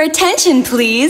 attention, please.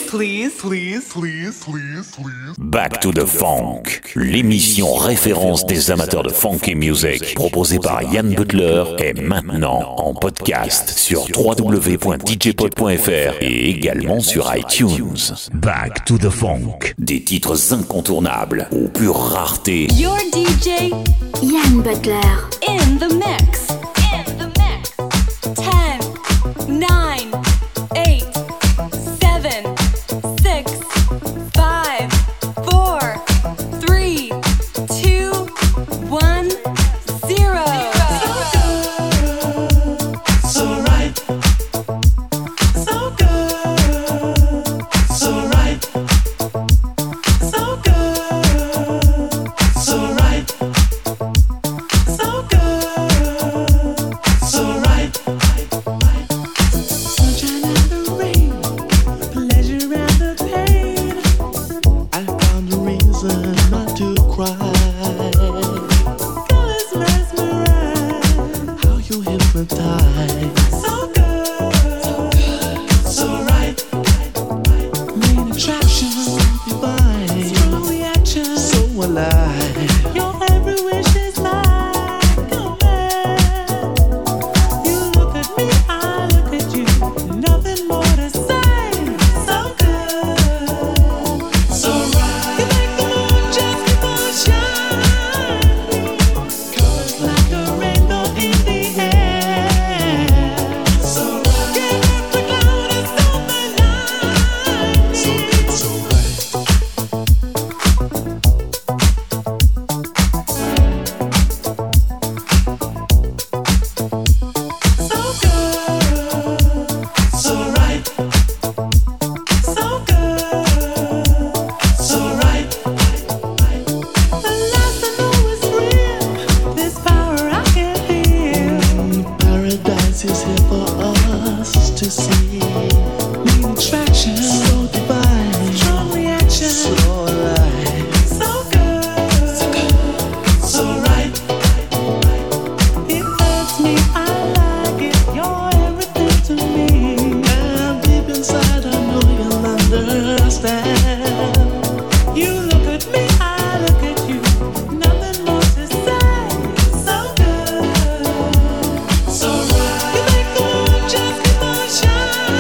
Back to the Funk, l'émission référence des amateurs de funky music, proposée par Yann Butler, est maintenant en podcast sur www.djpod.fr et également sur iTunes. Back to the Funk, des titres incontournables aux pures raretés. Your DJ, Yann Butler. in the mix. 10, 9, 8, 7, 6, 5, 4, 3, 2, 1, 0. So right, so good, so right, so good, so right, so good, so right. Sunshine and the rain, pleasure and the pain. I found a reason not to cry. Colors mesmerize, how you hypnotize. So good, so right. Main attraction, divine. Strong reaction, so alive. Your every wish is mine. Come back. You look at me, I look at you. Nothing more to say. So good, so right. You make the moon just keep on shining. Colors like a rainbow in the air. So right. Get up the cloud and silver lining. So right. So good, so right. So good, so right. The last I know is real. This power I can feel. Paradise is here for us to see. Main attraction, so divine. Strong reaction, so alive. So good, so right. It hurts me, I like it. You're everything to me. And deep inside, I know you'll understand. You look at me, I look at you. Nothing more to say. So good, so right. You make the moon just keep on shining.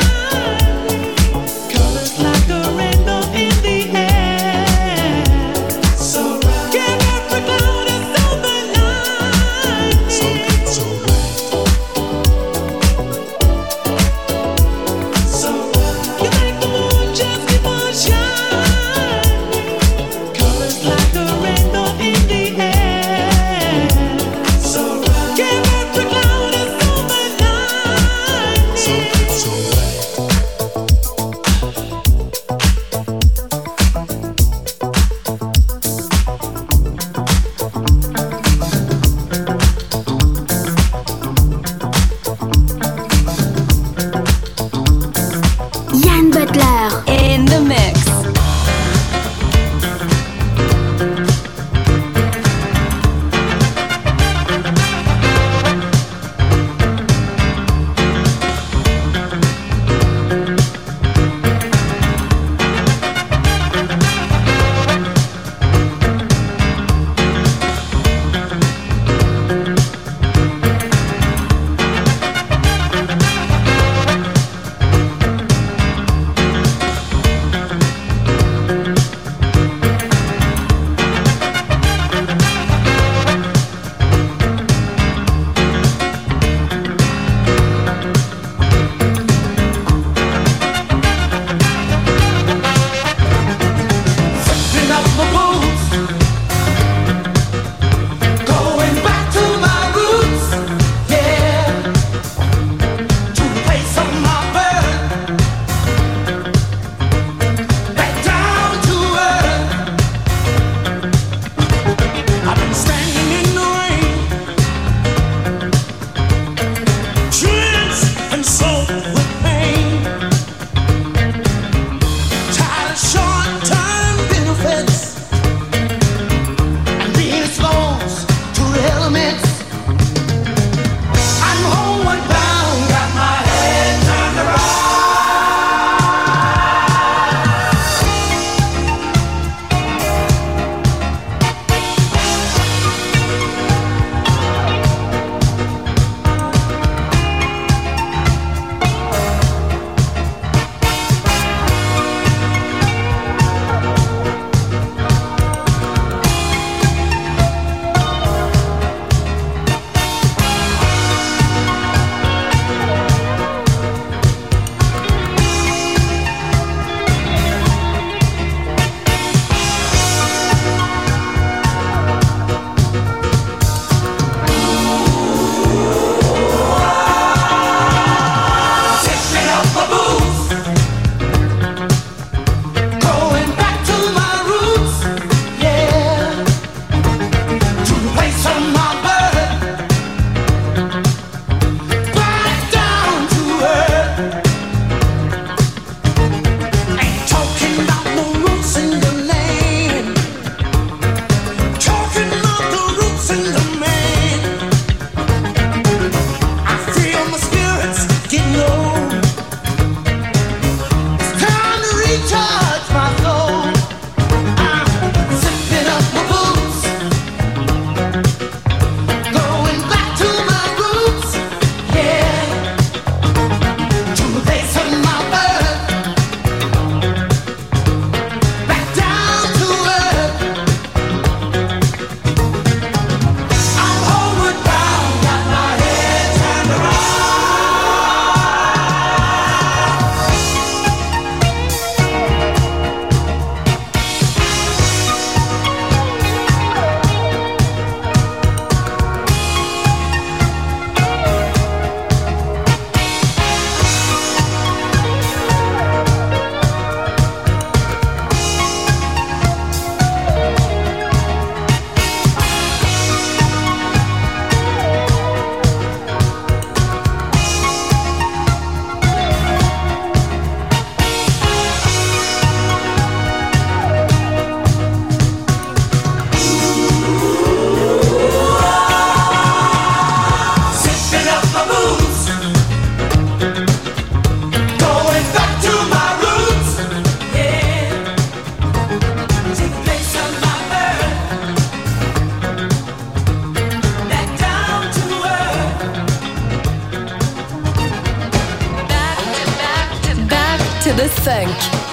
de funk.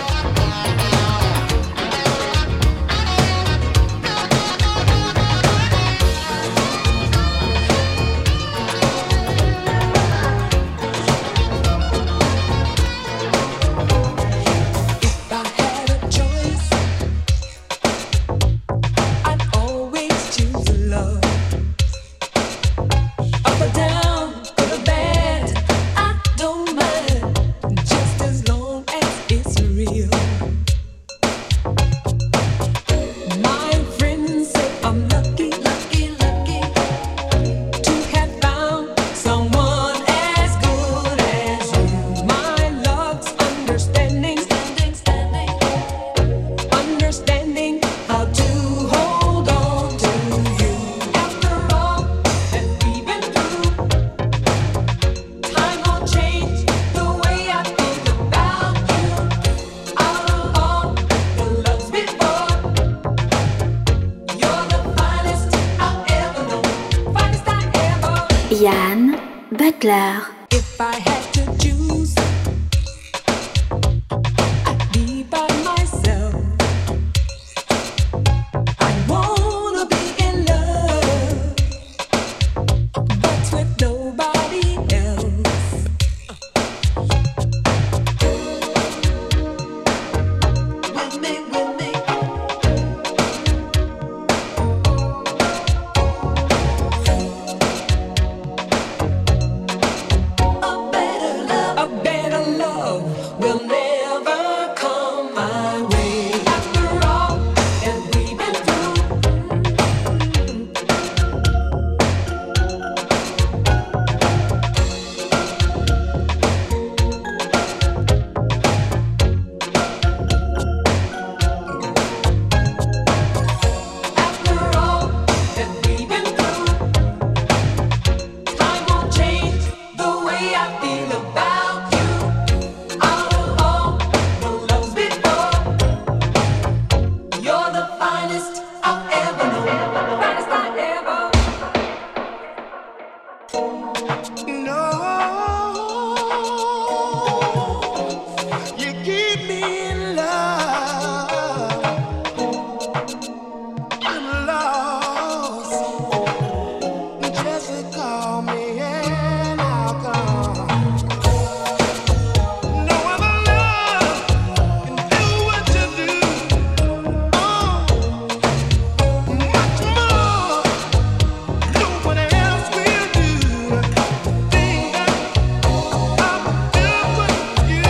Yann Butler. If I had to choose, I'd be by myself. I wanna be in love, but with nobody else. With me, with me. A better love will never come my way. After all that we've been After all that we've been through, time won't change the way I feel about you. Out of all the loves before, you're the finest I've ever known, finest I ever. No, you keep me in love. I'm lost. Just call me and I'll come. No other love can do what you do. Oh, much more. No one else will do. Thing that I would do with you.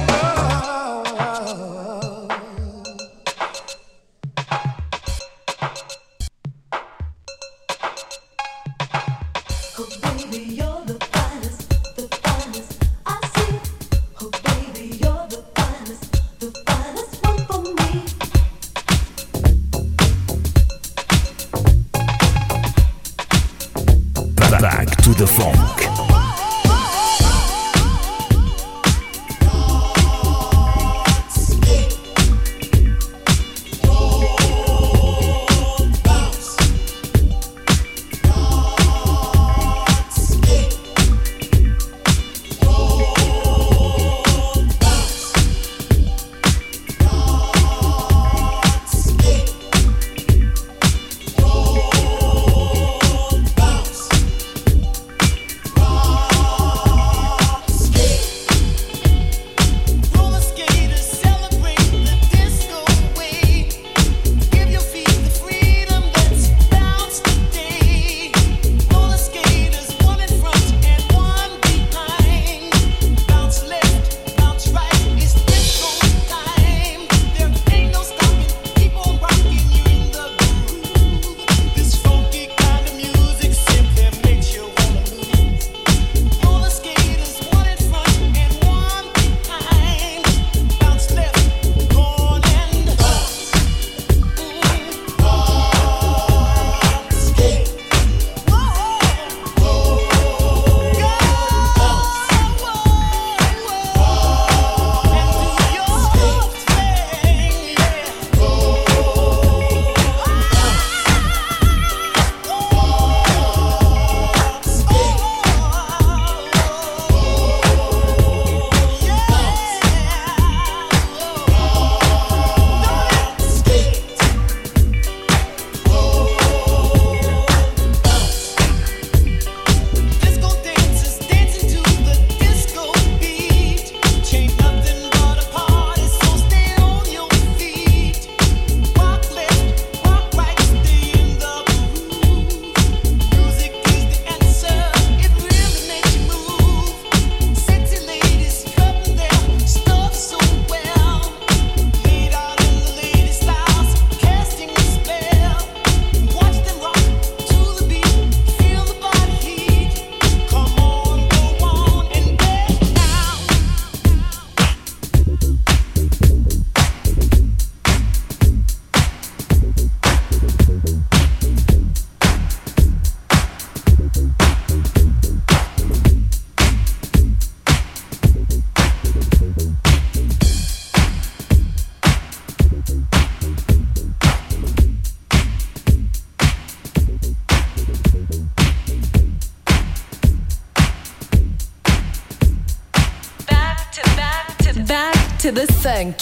Oh baby, you're the finest I see. Oh baby, you're the finest one for me. Back to the funk. back to the funk.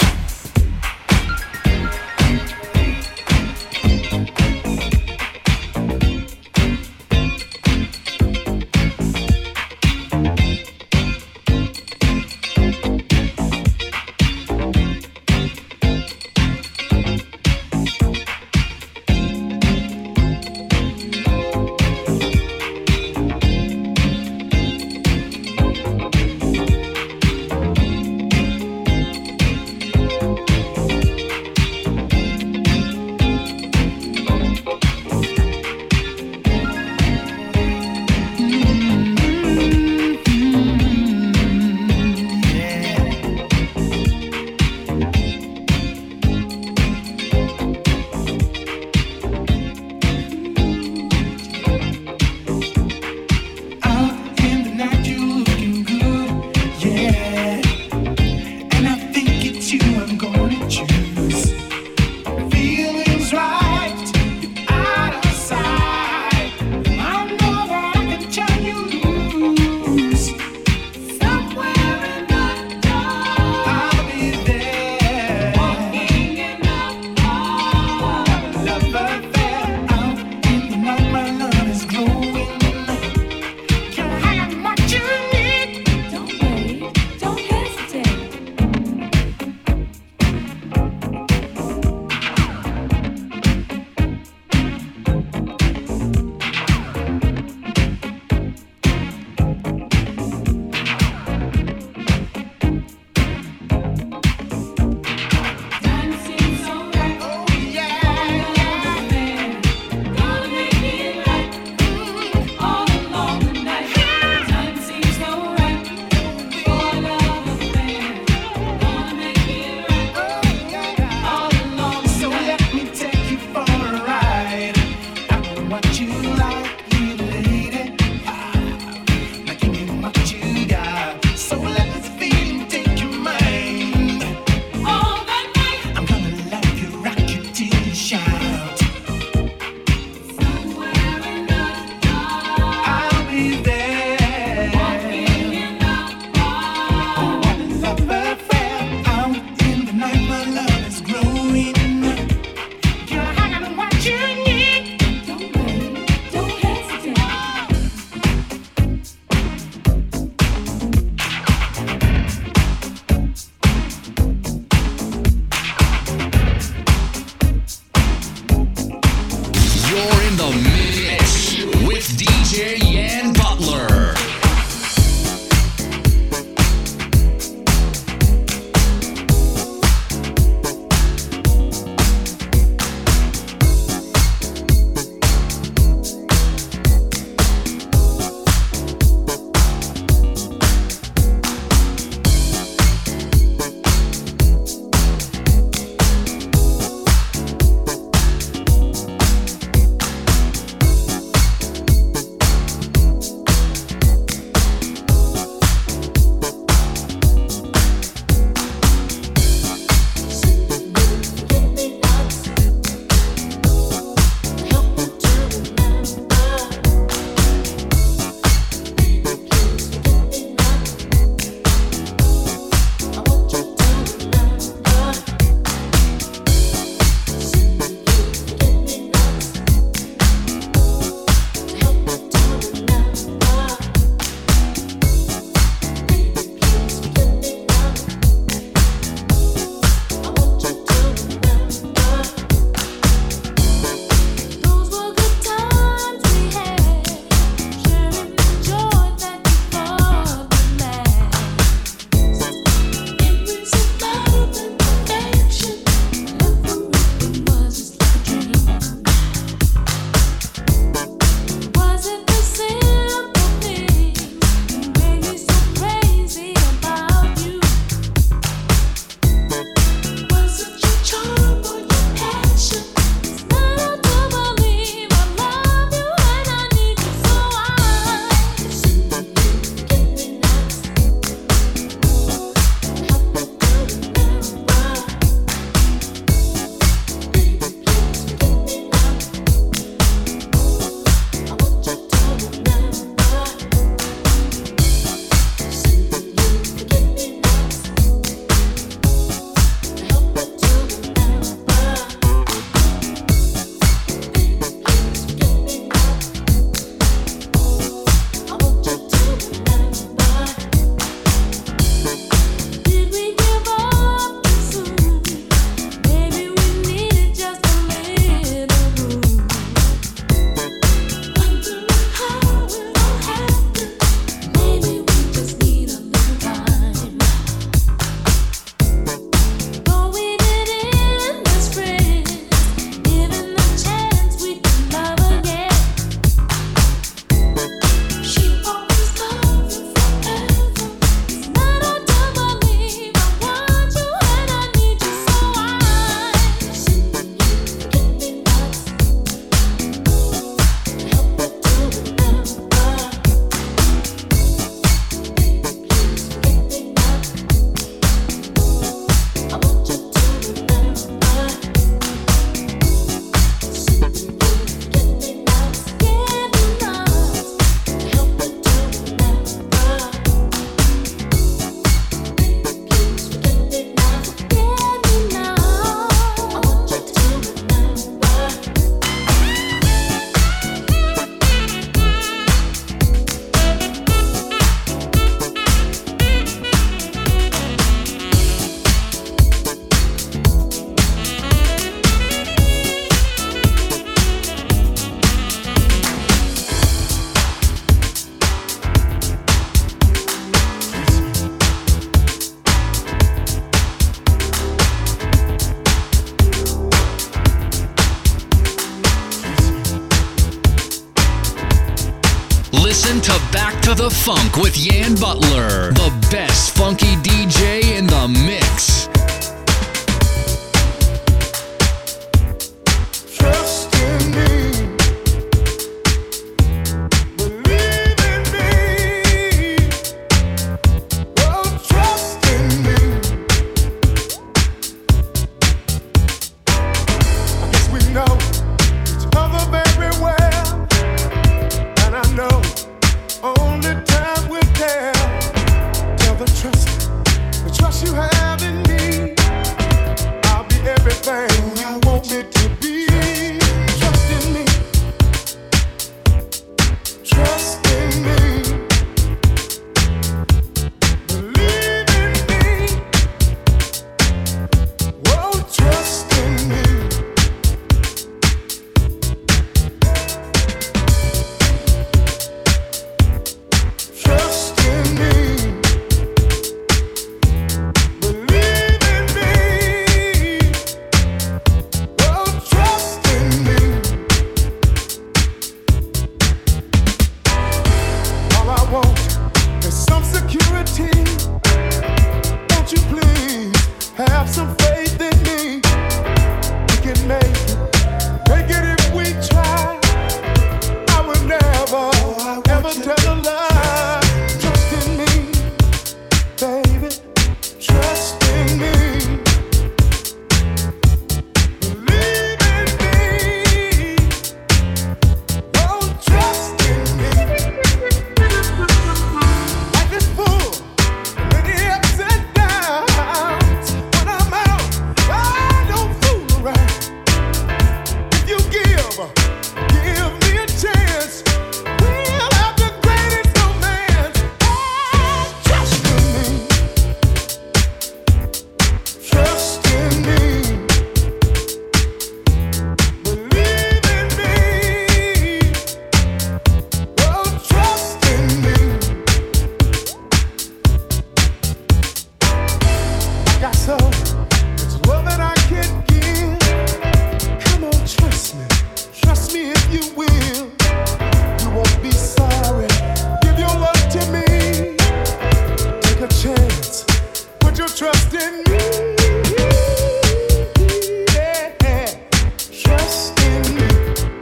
the Funk with Yan Butler, the best funky DJ in the mix. Trust in me, believe in me, oh trust in me. I guess we know each other very well, and I know only time will tell. Tell the trust you have in me. I'll be everything you want me to be. Trust in me. Trust in me. Believe in me. Oh, trust in me. Trust in me. Believe in me. Oh, trust in me. All I want is some security. Won't you please have some faith in me? We can make it if we try. I would never, ever tell a lie. Trust in me, baby. Trust in me. Believe in me. Oh, trust in me. Life is full of many ups and downs. When I'm out, I don't fool around. If you give me a chance, we'll have the greatest romance. Oh, trust in me. Trust in me. Believe in me. Oh, trust in me. I got so much love that I can give. Come on, trust me. Trust me if you will. You won't be sorry. Give your love to me. Take a chance. Put your trust in me. Yeah. Trust in me.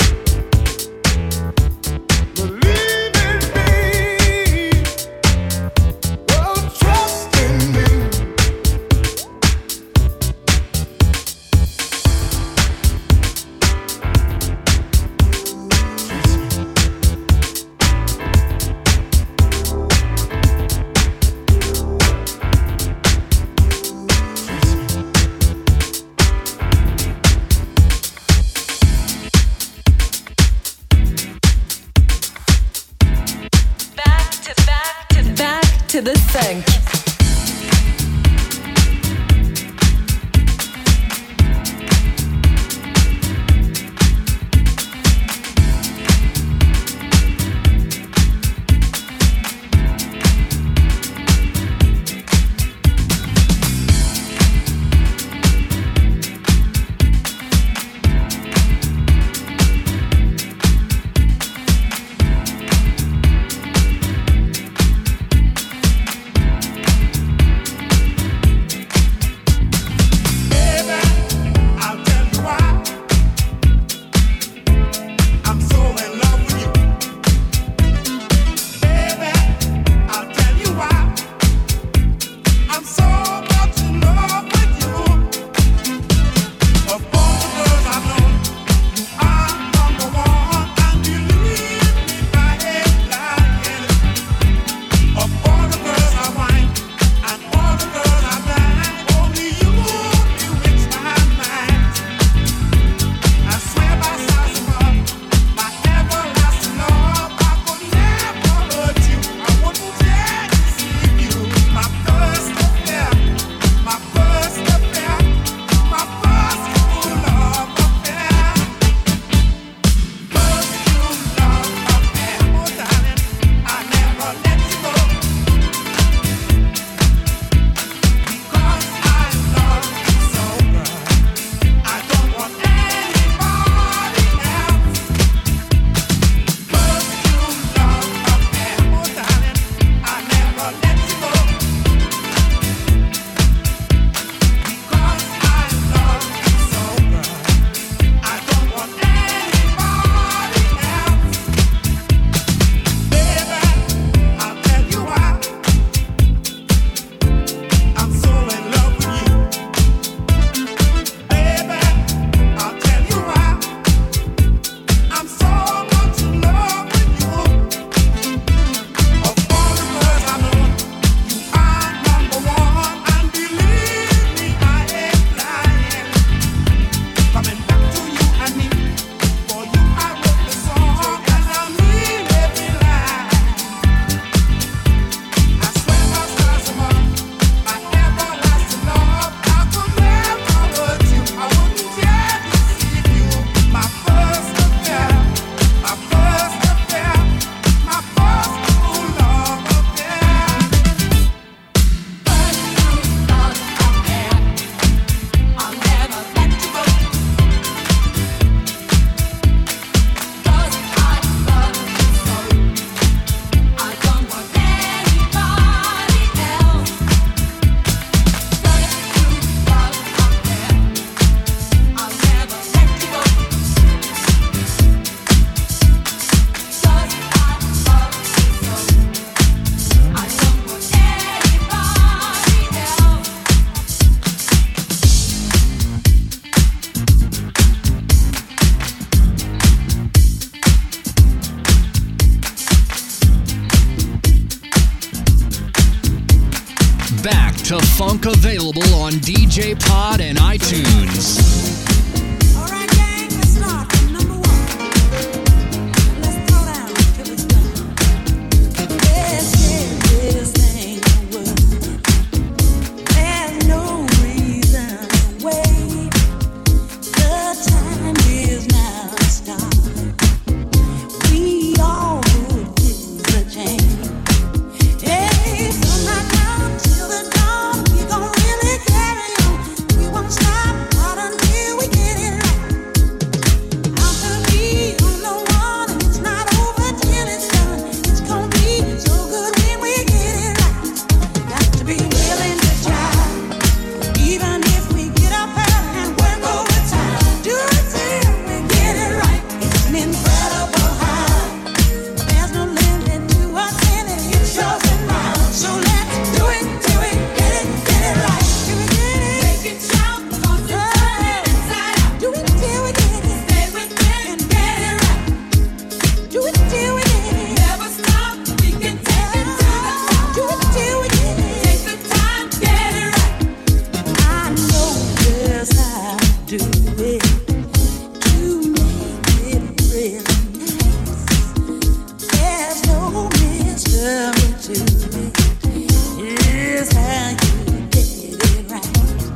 Believe in me. Oh, trust in me. Back to the funk. back to Funk, available on DJ Pod and iTunes. Alright, gang, let's start from number 1. Let's throw down till it's done. This thing works. There's no reason to wait. The time is now to start. We all good things a change. Hey, from right now till the dawn, we gon' really carry on. We won't stop out until we get it right. Out to be on the one, and it's not over till it's done. It's gon' be so good when we get it right. Got to be willing to try, even if we get up early and work overtime. Do it till we get it right. It's an incredible high. There's no limit to what's in it. It's yours and mine. So let's do it till we get it right. Till we get it. Make it shout, 'cause it's turning inside out. Do it till we get it. Stay with it and get it right. Do it till we get it. Never stop. We can take it to the top. Do it till we get it. Take the time, get it right. I know just how to do it to make it really nice. There's no mystery to it. Here's how you get it right.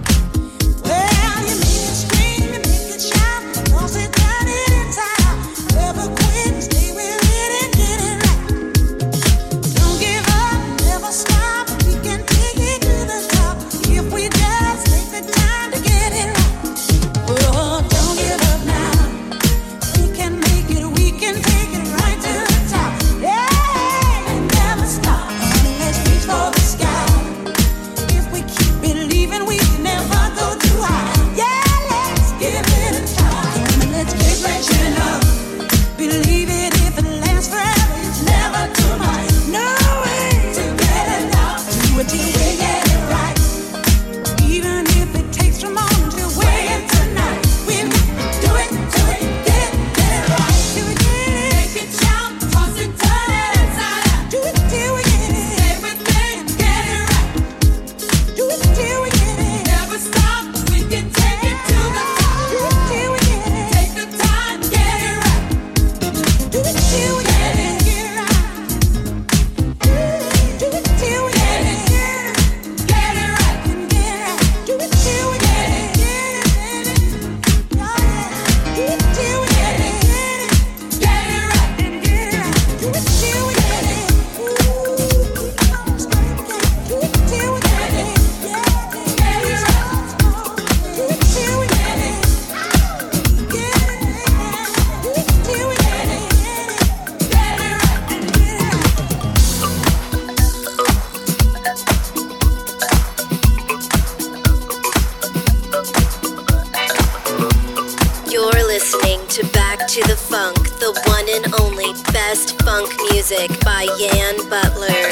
Well, you make it scream, you make it shout, 'cause it turn it inside out. Never quit, stay with it and get it right. Don't give up, never stop. We can take it to the top if we just take the time to get it right. Oh, don't give up now. We can make it, we can take it right to the top. Yeah, and never stop. Let's reach for the sky. If we keep believing, we can never go too high. Yeah, let's give it a try. And let's keep reaching up. Believe it, if it lasts forever, it's never too much. No way to get it out. Do it till we get it right. Even if it takes from morning till way into night, we've got to do it till we get it right. Till we get it. Make it shout, 'cause it turning inside out. Do it till we get it. Stay with it and get it right. Do it till we get it. Never stop. We can take it to the top. Do it till we get it. Take the time, get it right. Do it till we get it. Get it right. Do it till we get it. Get it right. Get it right. Do it till we get it. Get it. Do it till we get it. Get it right. Get it right. Do it till we get it. Do it till we get it. Get it right. Do it till we get it. Get it. Do it till we get it. Get it right. Get it right. You're listening to Back to the Funk, the one and only best funk music by Yan Butler.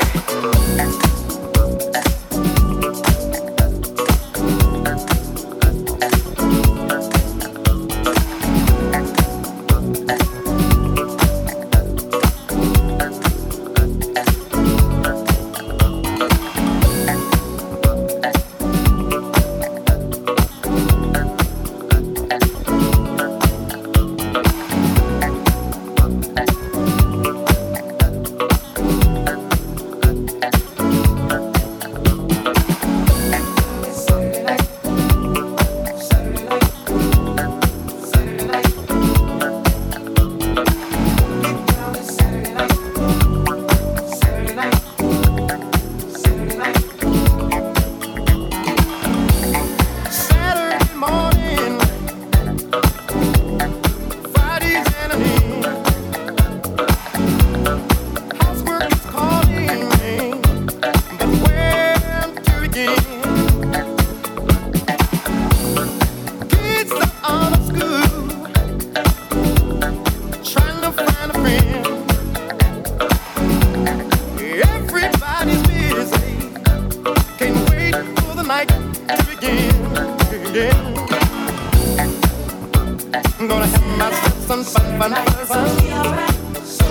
Gonna have myself some fun.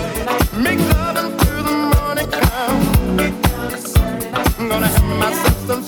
Make love until the morning comes. Gonna have myself some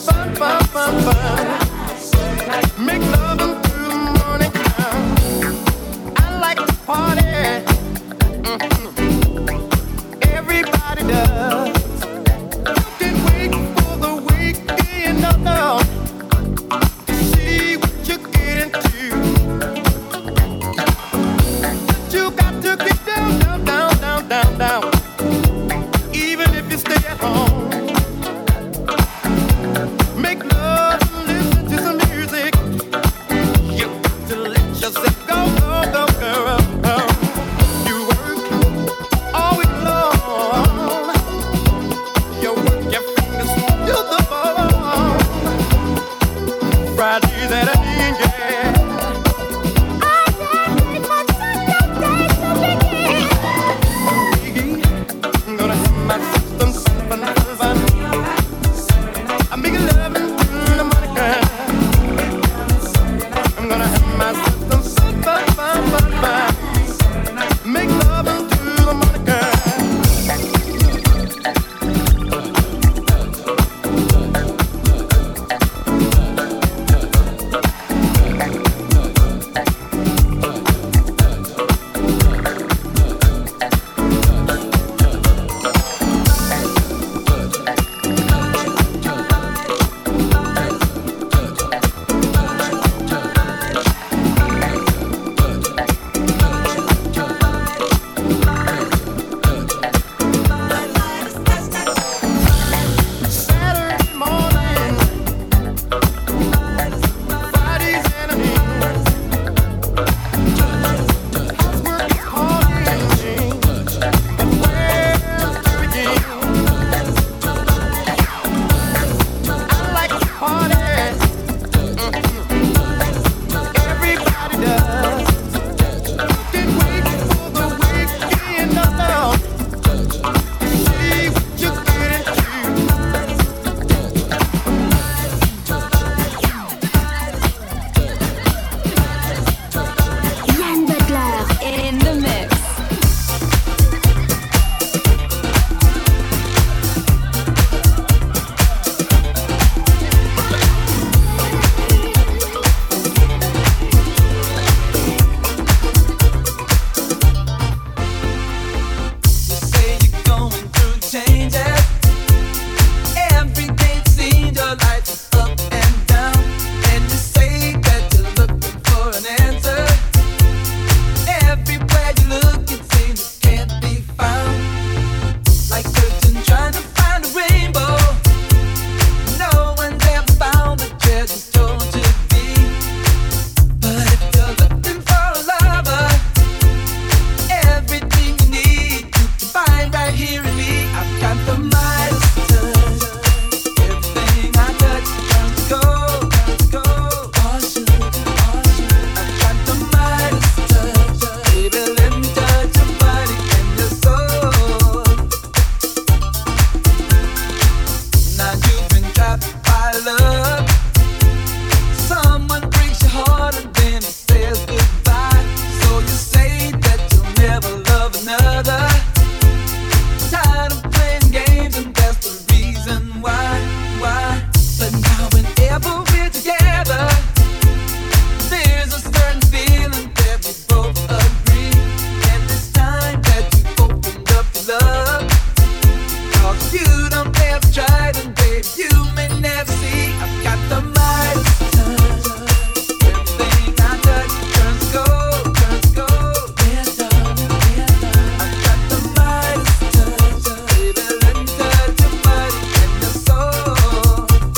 never see. I've got the Midas touch. Everything I touch turns gold, turns gold. Yeah, darling, yeah, darling. I've got the Midas touch. Baby, let me touch your body and your soul.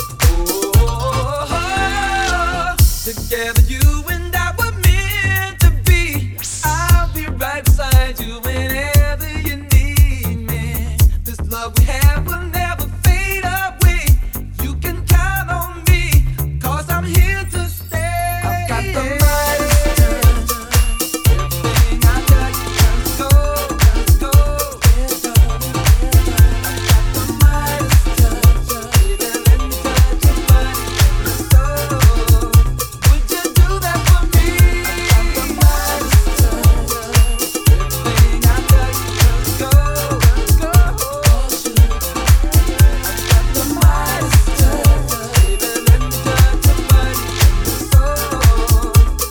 Together you and I were meant to be. I'll be right beside you whenever you need me. This love we have will never fade away. You can count on me, 'cause I'm here to stay. I've got the Midas touch. Everything I touch turns gold, turns gold. Yeah, darling, yeah, darling. I've got the Midas touch. Baby, let me touch your body and your soul. Would you do that for me? I've got the Midas touch. Everything I touch turns gold, turns gold. I've got the Midas touch. Baby, let me touch your body and your soul.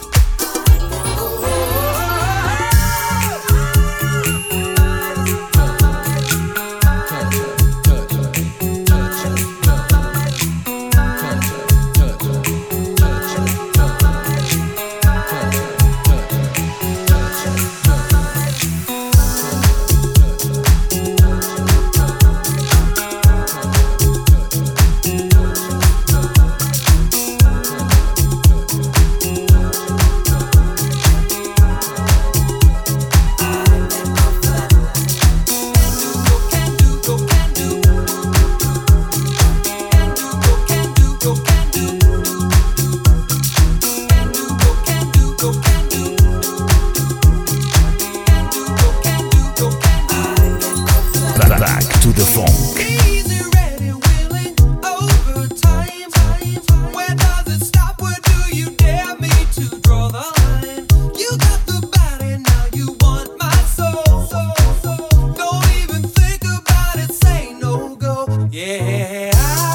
Back to the funk. Easy, ready, willing, overtime. Where does it stop? Where do you dare me to draw the line? You got the body, now you want my soul. Don't even think about it, say no go. Yeah,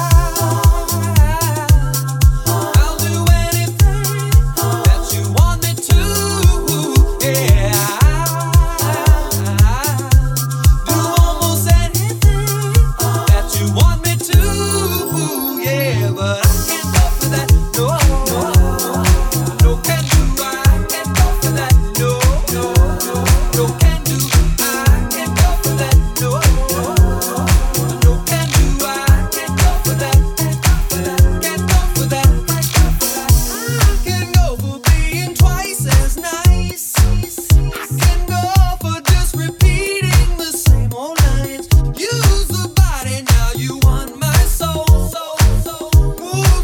I'll do anything that you want me to. Yeah, do almost anything that you want me to. Yeah, but I can't go for that. No, no, no can do. I can't go for that. No, no, no can do. I can't go for that. No, no can do. I can't go for that. Can't go for that. I can go for being twice as nice. I can go for just repeating the same old lines. Use the body, now you want my soul. Ooh,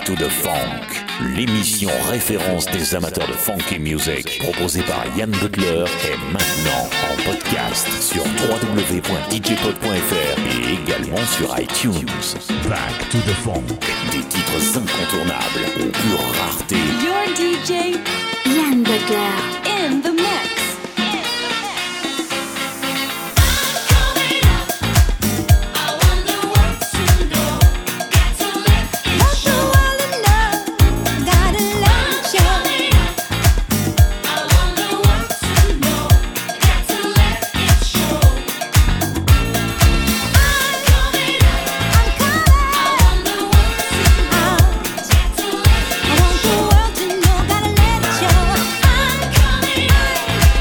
to the Funk, l'émission référence des amateurs de funky music, proposée par Yann Butler, est maintenant en podcast sur www.djpod.fr et également sur iTunes. Back to the Funk, des titres incontournables aux pures raretés. Your DJ Yann Butler. in the mix. I want the world to know, gotta let it show. I'm coming.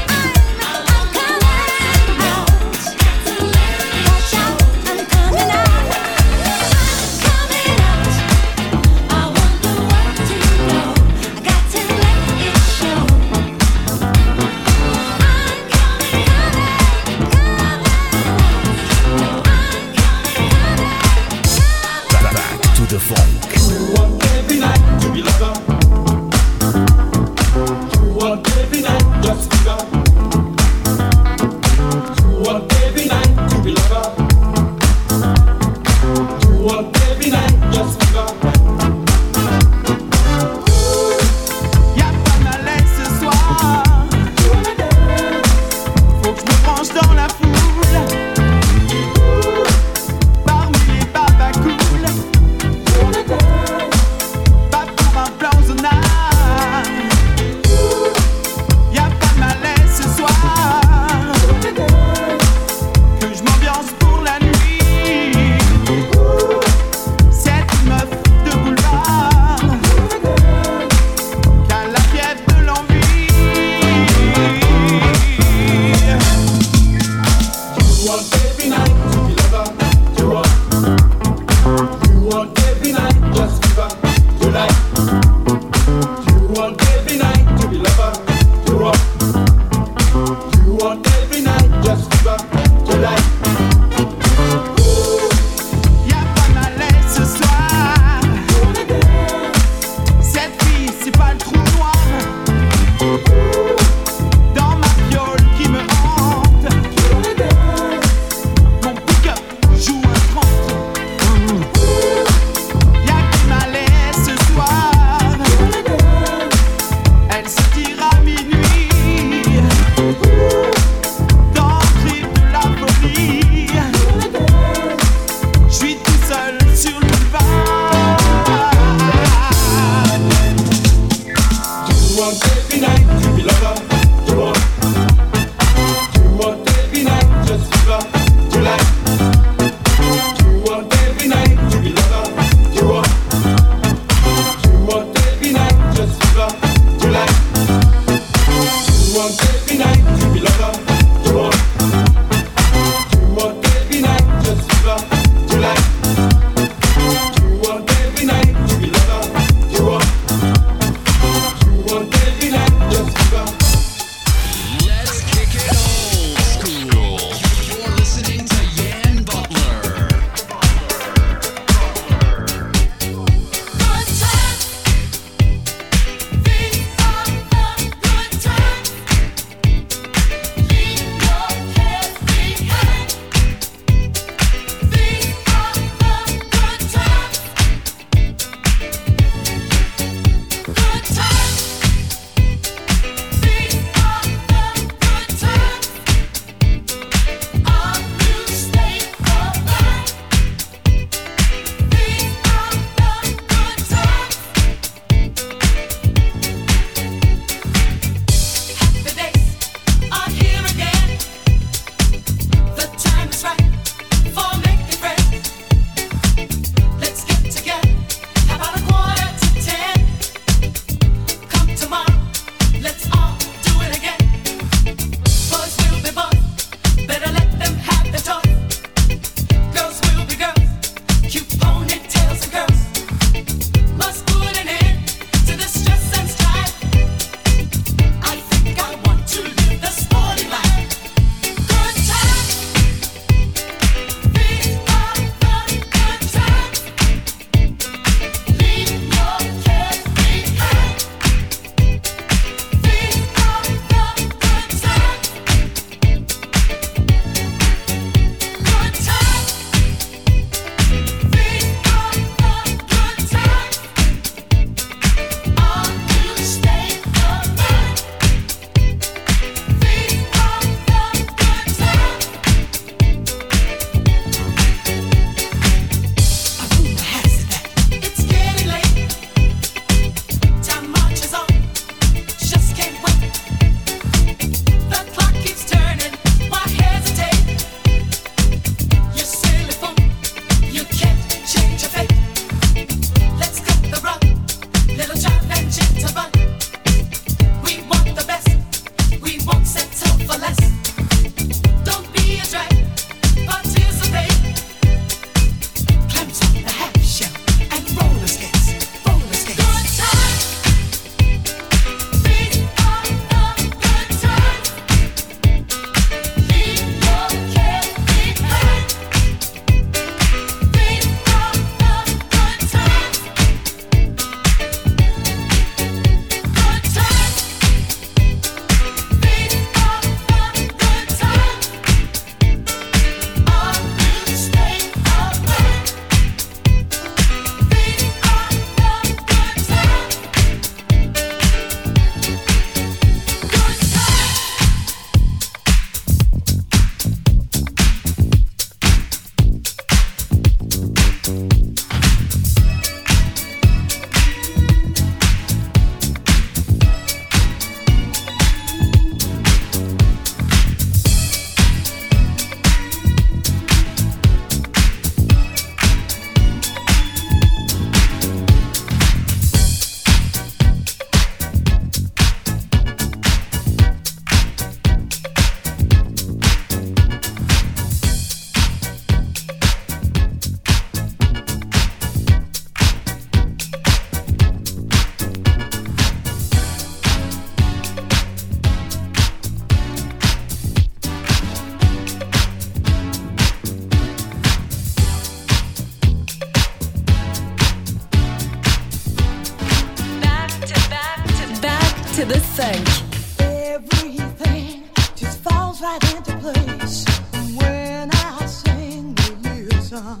place. When I sing, you listen.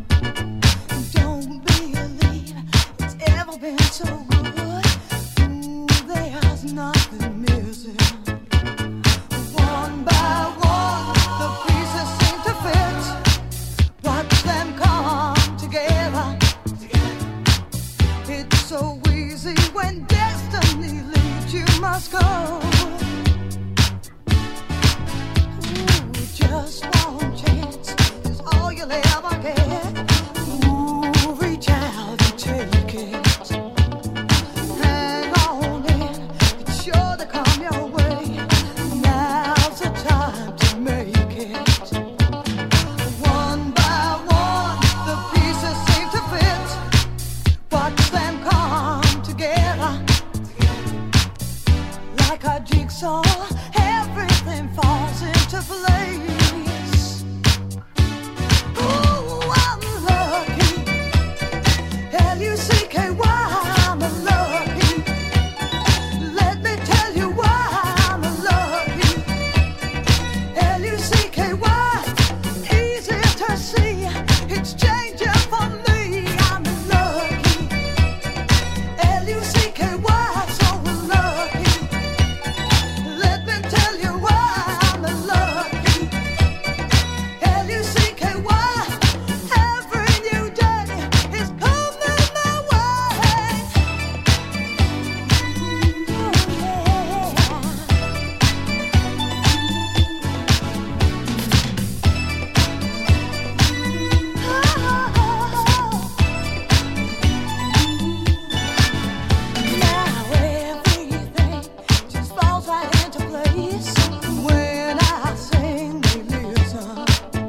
Don't believe it's ever been so good. Ooh, there's nothing missing. One by one, the pieces seem to fit. Watch them come together. It's so easy when destiny leads, you must go. Ooh, just one chance is all you'll ever get. Ooh, reach out and take it. Hang on in, it's sure to come your way. Now's the time to make it. One by one, the pieces seem to fit. Watch them come together. Like a jigsaw, everything falls into place. Ooh, I'm lucky. L-U-C-K-Y, I'm lucky. Let me tell you why I'm lucky. L-U-C-K-Y, easy to see. It's changing for me. I'm lucky. L-U-C-K-Y, so lucky. Let me tell you why I'm lucky. L-U-C-K-Y, every new day is coming my way. Now everything just falls right into place. When I sing, you listen.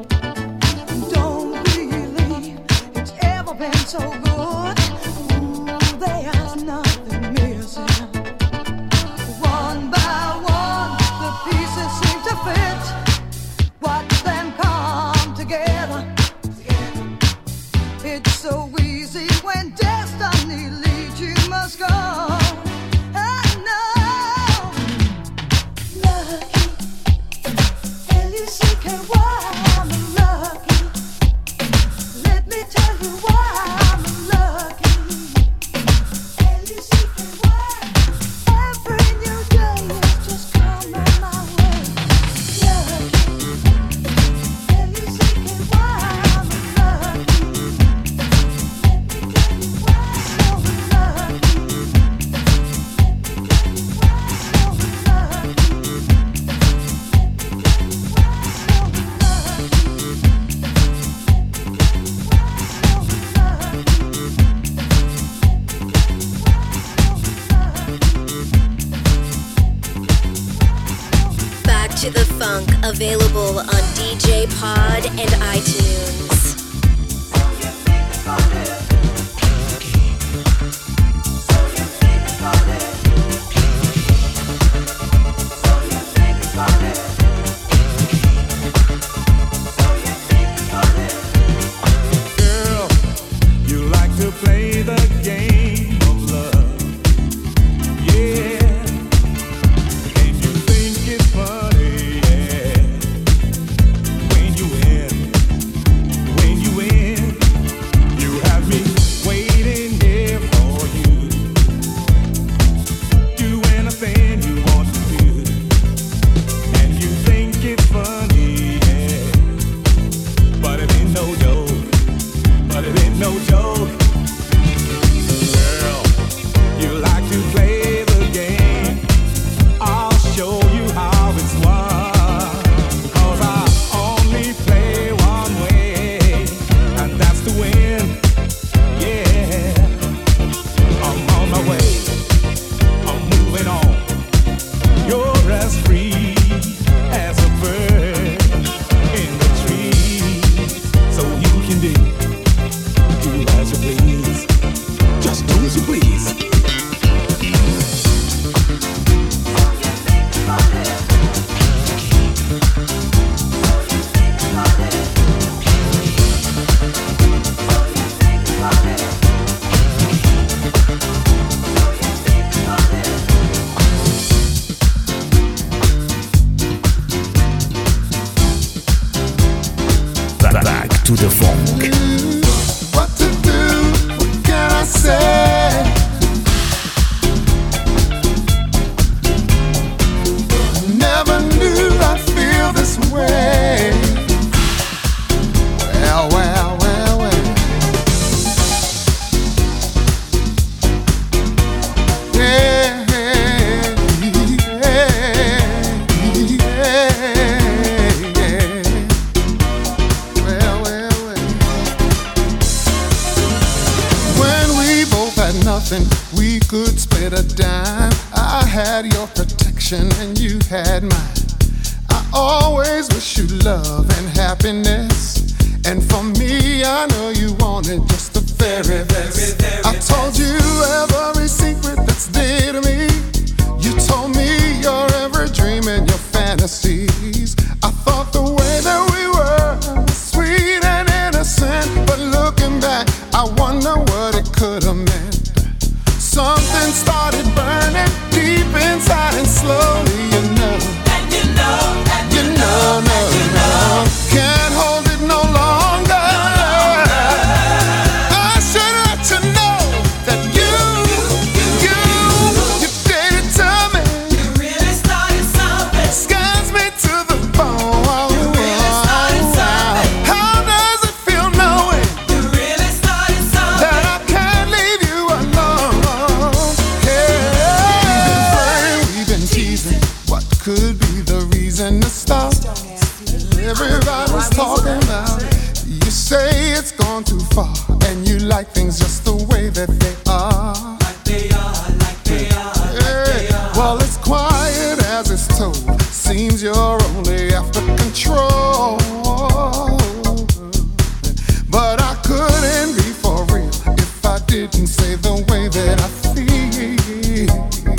Don't believe it's ever been so good. Ooh, there's nothing missing. One by one, the pieces seem to fit. Watch them come together. It's so easy when destiny leads, you must go. I know. Lucky. L-U-C-K-Y, I'm lucky. Let me tell you why I'm lucky. L-U-C-K-Y, every new day is just coming my way. Lucky. L-U-C-K-Y, I'm lucky. Let me tell you why I'm so lucky. Let me tell you why I'm so lucky. Let me tell you why I'm so lucky. Back to the Funk, available on DJ Pod and iTunes. Girl, you like to play the game of love. Yeah. And you think it's funny, yeah. When you win, you have me to the Funk. What to do? What can I say? Never knew I'd feel this way. Well, well, well, well. Yeah, yeah, yeah. Well, well, well. When we both had nothing, we could split a dime. I had your protection and you had mine. I always wish you love and happiness. And for me, I know you wanted just the very best. I told you every secret that's dear to me. You told me your every dream and your fantasies. I thought the way that we were was sweet and innocent. But looking back, I wonder what it could have meant. Something started burning deep inside and slowly, you know. And you know, and you know, no, can't hold it no longer. I should let you know that you did it to me. You really started something. Scares me to the bone. You really started something. How does it feel knowing? You really started something. That I can't leave you alone. Yeah. We've been teasing. What could be the reason to stop? Everybody's talking about it. You say it's gone too far, and you like things just the way that they are. Like they are, like they are, like they are. Well, it's quiet as it's told. Seems you're only after control. But I couldn't be for real if I didn't say the way that I feel.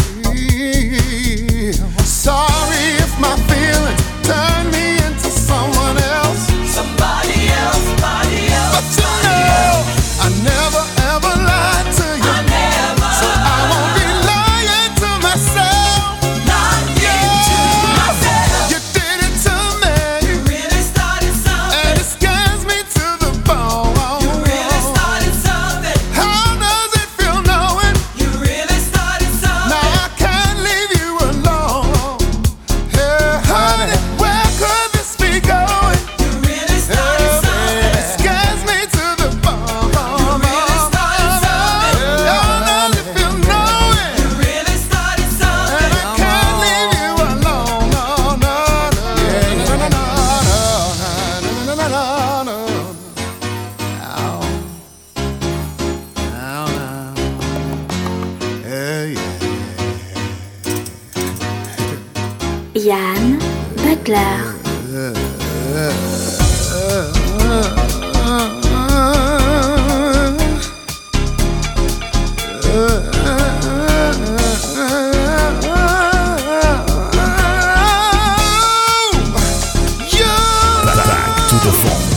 Sorry if my feelings turn me into someone else. Somebody else, somebody else. But you know, I never ever lied to you. I never. So I won't be lying to myself. Not yet to myself. You did it to me. You really started something. And it scares me to the bone. You really started something. How does it feel knowing? You really started something. Now I can't leave you alone. Yeah, honey, where could this be going? You really started something. It scares me to the bone. You really started something. How does it feel knowing? You really started something. And I can't leave you alone. No, no, no. Yeah, no, no, no, no, no, no, no, no. Ow. Ow, ow. Yeah, yeah. Yann Butler. Back to the Funk.